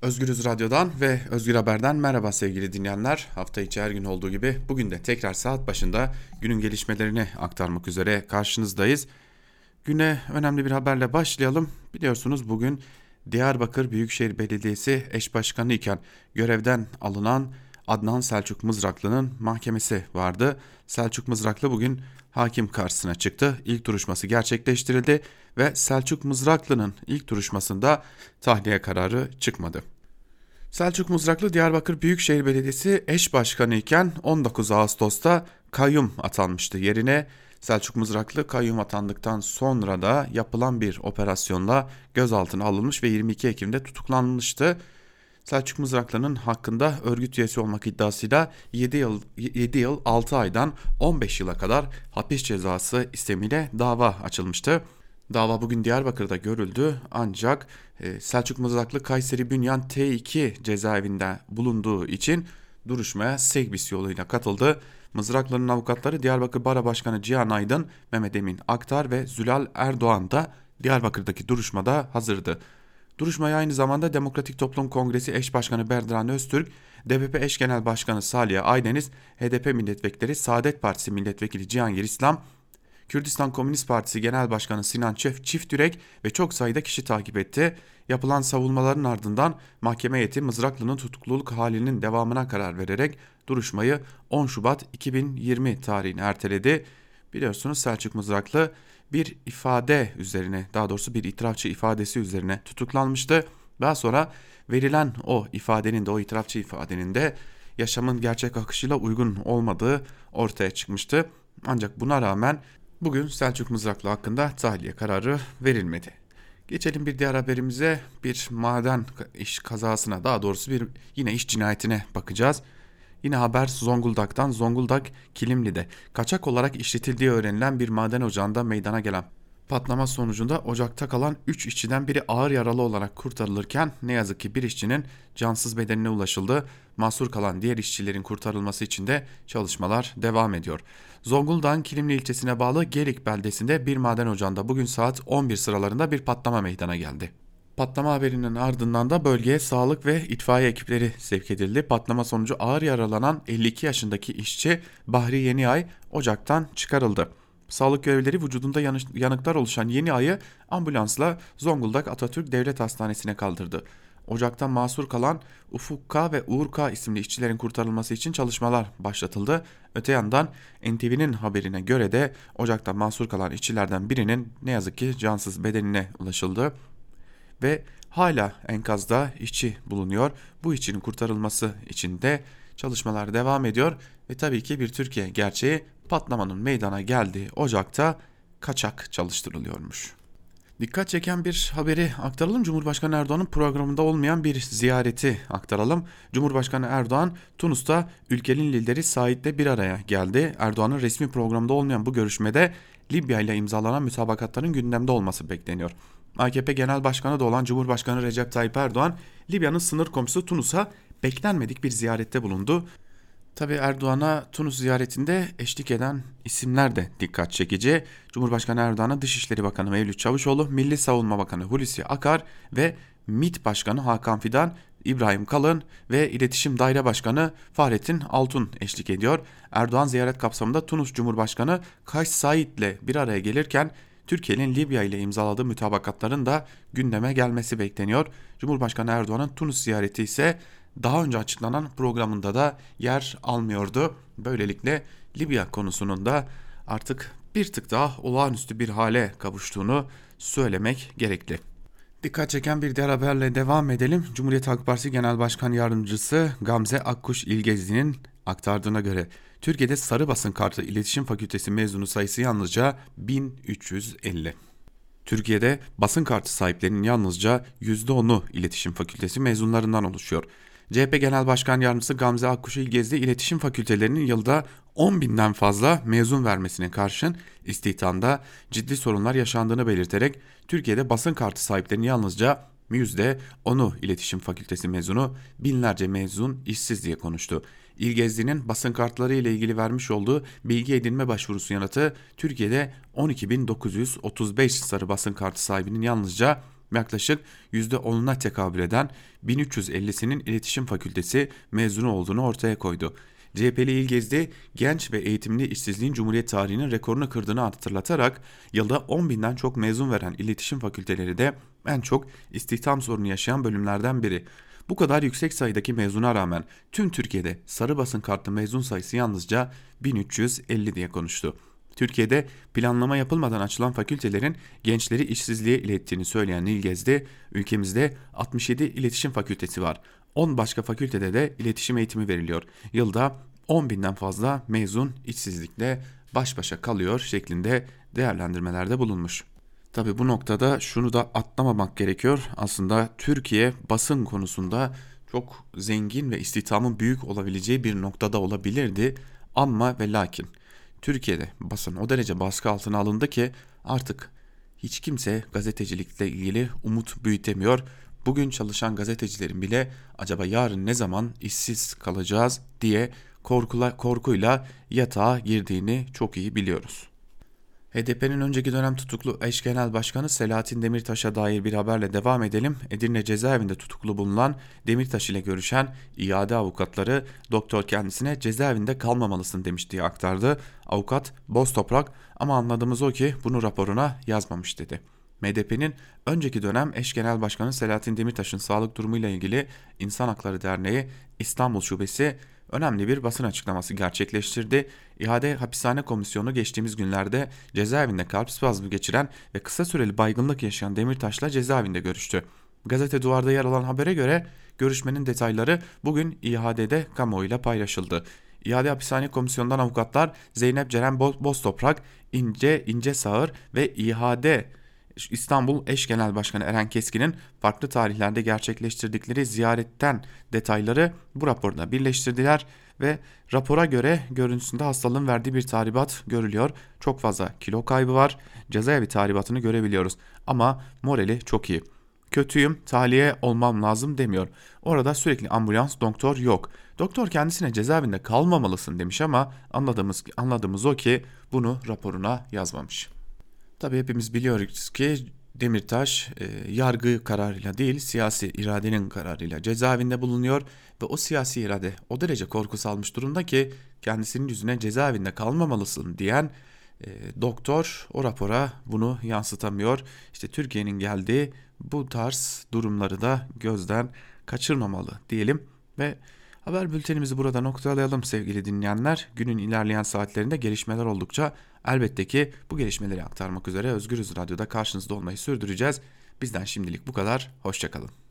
Özgürüz Radyo'dan ve Özgür Haber'den merhaba sevgili dinleyenler. Hafta içi her gün olduğu gibi bugün de tekrar saat başında günün gelişmelerini aktarmak üzere karşınızdayız. Güne önemli bir haberle başlayalım. Biliyorsunuz bugün Diyarbakır Büyükşehir Belediyesi eş başkanı iken görevden alınan Adnan Selçuk Mızraklı'nın mahkemesi vardı. Selçuk Mızraklı bugün hakim karşısına çıktı. İlk duruşması gerçekleştirildi ve Selçuk Mızraklı'nın ilk duruşmasında tahliye kararı çıkmadı. Selçuk Mızraklı Diyarbakır Büyükşehir Belediyesi eş başkanı iken 19 Ağustos'ta kayyum atanmıştı. Yerine Selçuk Mızraklı kayyum atandıktan sonra da yapılan bir operasyonla gözaltına alınmış ve 22 Ekim'de tutuklanmıştı. Selçuk Mızraklı'nın hakkında örgüt üyesi olmak iddiasıyla 7 yıl 6 aydan 15 yıla kadar hapis cezası istemiyle dava açılmıştı. Dava bugün Diyarbakır'da görüldü ancak Selçuk Mızraklı Kayseri Bünyan T2 cezaevinde bulunduğu için duruşmaya Segbis yoluyla katıldı. Mızraklı'nın avukatları Diyarbakır Bara Başkanı Cihan Aydın, Mehmet Emin Aktar ve Zülal Erdoğan da Diyarbakır'daki duruşmada hazırdı. Duruşmaya aynı zamanda Demokratik Toplum Kongresi eş başkanı Berdiran Öztürk, DPP eş genel başkanı Salih Aydeniz, HDP milletvekilleri Saadet Partisi milletvekili Cihangir İslam, Kürdistan Komünist Partisi Genel Başkanı Sinan Çiftürek ve çok sayıda kişi takip etti. Yapılan savunmaların ardından mahkeme heyeti Mızraklı'nın tutukluluk halinin devamına karar vererek duruşmayı 10 Şubat 2020 tarihine erteledi. Biliyorsunuz Selçuk Mızraklı bir ifade üzerine, daha doğrusu bir itirafçı ifadesi üzerine tutuklanmıştı. Daha sonra verilen o ifadenin de, o itirafçı ifadenin de yaşamın gerçek akışıyla uygun olmadığı ortaya çıkmıştı. Ancak buna rağmen bugün Selçuk Mızraklı hakkında tahliye kararı verilmedi. Geçelim bir diğer haberimize. Bir maden iş kazasına, daha doğrusu bir yine iş cinayetine bakacağız. Yine haber Zonguldak'tan. Zonguldak Kilimli'de kaçak olarak işletildiği öğrenilen bir maden ocağında meydana gelen patlama sonucunda ocakta kalan 3 işçiden biri ağır yaralı olarak kurtarılırken ne yazık ki bir işçinin cansız bedenine ulaşıldı. Mahsur kalan diğer işçilerin kurtarılması için de çalışmalar devam ediyor. Zonguldak'ın Kilimli ilçesine bağlı Gelik beldesinde bir maden ocağında bugün saat 11 sıralarında bir patlama meydana geldi. Patlama haberinin ardından da bölgeye sağlık ve itfaiye ekipleri sevk edildi. Patlama sonucu ağır yaralanan 52 yaşındaki işçi Bahri Yeniay ocaktan çıkarıldı. Sağlık görevlileri vücudunda yanıklar oluşan Yeniay'ı ambulansla Zonguldak Atatürk Devlet Hastanesi'ne kaldırdı. Ocaktan mahsur kalan Ufuk K ve Uğur K isimli işçilerin kurtarılması için çalışmalar başlatıldı. Öte yandan NTV'nin haberine göre de ocaktan mahsur kalan işçilerden birinin ne yazık ki cansız bedenine ulaşıldı ve hala enkazda işçi bulunuyor. Bu işçinin kurtarılması için de çalışmalar devam ediyor ve tabii ki bir Türkiye gerçeği, patlamanın meydana geldiği ocakta kaçak çalıştırılıyormuş. Dikkat çeken bir haberi aktaralım. Cumhurbaşkanı Erdoğan'ın programında olmayan bir ziyareti aktaralım. Cumhurbaşkanı Erdoğan Tunus'ta ülkenin lideri Said'le bir araya geldi. Erdoğan'ın resmi programda olmayan bu görüşmede Libya ile imzalanan mütabakatların gündemde olması bekleniyor. AKP Genel Başkanı da olan Cumhurbaşkanı Recep Tayyip Erdoğan, Libya'nın sınır komşusu Tunus'a beklenmedik bir ziyarette bulundu. Tabi Erdoğan'a Tunus ziyaretinde eşlik eden isimler de dikkat çekici. Cumhurbaşkanı Erdoğan'a Dışişleri Bakanı Mevlüt Çavuşoğlu, Milli Savunma Bakanı Hulusi Akar ve MİT Başkanı Hakan Fidan, İbrahim Kalın ve İletişim Daire Başkanı Fahrettin Altun eşlik ediyor. Erdoğan ziyaret kapsamında Tunus Cumhurbaşkanı Kays Said ile bir araya gelirken Türkiye'nin Libya ile imzaladığı mütabakatların da gündeme gelmesi bekleniyor. Cumhurbaşkanı Erdoğan'ın Tunus ziyareti ise daha önce açıklanan programında da yer almıyordu. Böylelikle Libya konusunun da artık bir tık daha olağanüstü bir hale kavuştuğunu söylemek gerekli. Dikkat çeken bir diğer haberle devam edelim. Cumhuriyet Halk Partisi Genel Başkan Yardımcısı Gamze Akkuş İlgezi'nin aktardığına göre Türkiye'de sarı basın kartı İletişim Fakültesi mezunu sayısı yalnızca 1350. Türkiye'de basın kartı sahiplerinin yalnızca %10'u İletişim Fakültesi mezunlarından oluşuyor. CHP Genel Başkan Yardımcısı Gamze Akkuş İlgezdi, iletişim fakültelerinin yılda 10 binden fazla mezun vermesine karşın istihdamda ciddi sorunlar yaşandığını belirterek Türkiye'de basın kartı sahiplerinin yalnızca %10'u iletişim fakültesi mezunu, binlerce mezun işsiz diye konuştu. İlgezdi'nin basın kartları ile ilgili vermiş olduğu bilgi edinme başvurusu yanıtı Türkiye'de 12.935 sarı basın kartı sahibinin yalnızca Yaklaşık %10'una tekabül eden 1350'sinin iletişim fakültesi mezunu olduğunu ortaya koydu. CHP'li İlgezdi, genç ve eğitimli işsizliğin Cumhuriyet tarihinin rekorunu kırdığını hatırlatarak yılda 10 binden çok mezun veren iletişim fakülteleri de en çok istihdam sorunu yaşayan bölümlerden biri. Bu kadar yüksek sayıdaki mezuna rağmen tüm Türkiye'de sarı basın kartlı mezun sayısı yalnızca 1350 diye konuştu. Türkiye'de planlama yapılmadan açılan fakültelerin gençleri işsizliğe ilettiğini söyleyen İlgezdi, ülkemizde 67 iletişim fakültesi var. 10 başka fakültede de iletişim eğitimi veriliyor. Yılda 10 binden fazla mezun işsizlikle baş başa kalıyor şeklinde değerlendirmelerde bulunmuş. Tabii bu noktada şunu da atlamamak gerekiyor. Aslında Türkiye basın konusunda çok zengin ve istihdamın büyük olabileceği bir noktada olabilirdi. Ama ve lakin Türkiye'de basın o derece baskı altına alındı ki artık hiç kimse gazetecilikle ilgili umut büyütemiyor. Bugün çalışan gazetecilerin bile acaba yarın ne zaman işsiz kalacağız diye korkuyla yatağa girdiğini çok iyi biliyoruz. HDP'nin önceki dönem tutuklu eş genel başkanı Selahattin Demirtaş'a dair bir haberle devam edelim. Edirne cezaevinde tutuklu bulunan Demirtaş ile görüşen iade avukatları doktor kendisine cezaevinde kalmamalısın demiş diye aktardı. Avukat boz toprak ama anladığımız o ki bunu raporuna yazmamış dedi. MDP'nin önceki dönem eş genel başkanı Selahattin Demirtaş'ın sağlık durumuyla ilgili İnsan Hakları Derneği İstanbul Şubesi önemli bir basın açıklaması gerçekleştirdi. İade Hapishane Komisyonu geçtiğimiz günlerde cezaevinde kalp spazmı geçiren ve kısa süreli baygınlık yaşayan Demirtaş'la cezaevinde görüştü. Gazete Duvar'da yer alan habere göre görüşmenin detayları bugün İHA'de kamuoyuyla paylaşıldı. İade Hapishane Komisyonu'ndan avukatlar Zeynep Ceren Boztoprak, İnce Sağır ve İHA'de İstanbul Eş Genel Başkanı Eren Keskin'in farklı tarihlerde gerçekleştirdikleri ziyaretten detayları bu raporda birleştirdiler ve rapora göre görüntüsünde hastalığın verdiği bir tahribat görülüyor. Çok fazla kilo kaybı var. Cezaevi tahribatını görebiliyoruz ama morali çok iyi. Kötüyüm, tahliye olmam lazım demiyor. Orada sürekli ambulans, doktor yok. Doktor kendisine cezaevinde kalmamalısın demiş ama anladığımız o ki bunu raporuna yazmamış. Tabii hepimiz biliyoruz ki Demirtaş yargı kararıyla değil siyasi iradenin kararıyla cezaevinde bulunuyor ve o siyasi irade o derece korku salmış durumda ki kendisinin yüzüne cezaevinde kalmamalısın diyen doktor o rapora bunu yansıtamıyor. İşte Türkiye'nin geldiği bu tarz durumları da gözden kaçırmamalı diyelim ve haber bültenimizi burada noktalayalım sevgili dinleyenler. Günün ilerleyen saatlerinde gelişmeler oldukça elbette ki bu gelişmeleri aktarmak üzere Özgürüz Radyo'da karşınızda olmayı sürdüreceğiz. Bizden şimdilik bu kadar. Hoşça kalın.